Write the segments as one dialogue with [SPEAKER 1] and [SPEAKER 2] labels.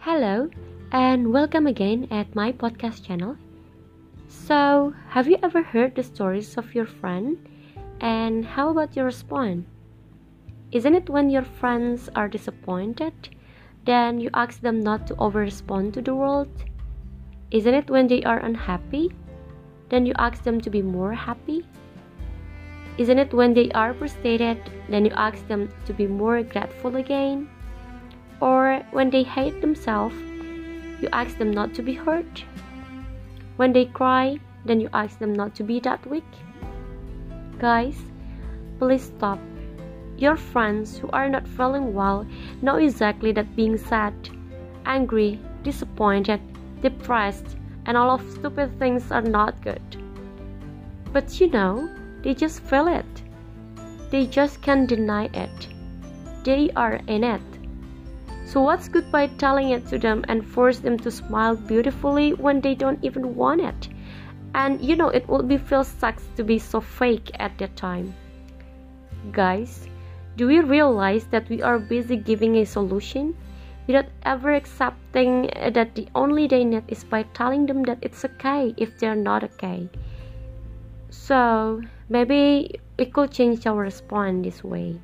[SPEAKER 1] Hello, and welcome again at my podcast channel. So, have you ever heard the stories of your friend? And how about your response? Isn't it when your friends are disappointed, then you ask them not to over-respond to the world? Isn't it when they are unhappy, then you ask them to be more happy? Isn't it when they are frustrated, then you ask them to be more grateful again? Or when they hate themselves, you ask them not to be hurt? When they cry, then you ask them not to be that weak? Guys, please stop. Your friends who are not feeling well know exactly that being sad, angry, disappointed, depressed, and all of stupid things are not good. But they just feel it. They just can't deny it. They are in it. So what's good by telling it to them and force them to smile beautifully when they don't even want it? And it will feel sucks to be so fake at that time. Guys, do we realize that we are busy giving a solution without ever accepting that the only they need is by telling them that it's okay if they're not okay? So maybe we could change our response this way.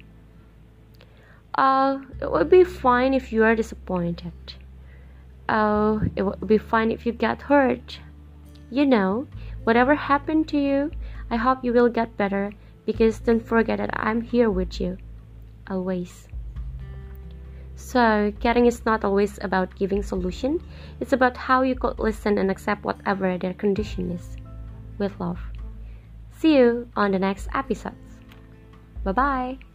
[SPEAKER 1] It would be fine if you are disappointed. It would be fine if you get hurt. Whatever happened to you, I hope you will get better, because don't forget that I'm here with you, always. So, caring is not always about giving solution. It's about how you could listen and accept whatever their condition is, with love. See you on the next episodes. Bye-bye.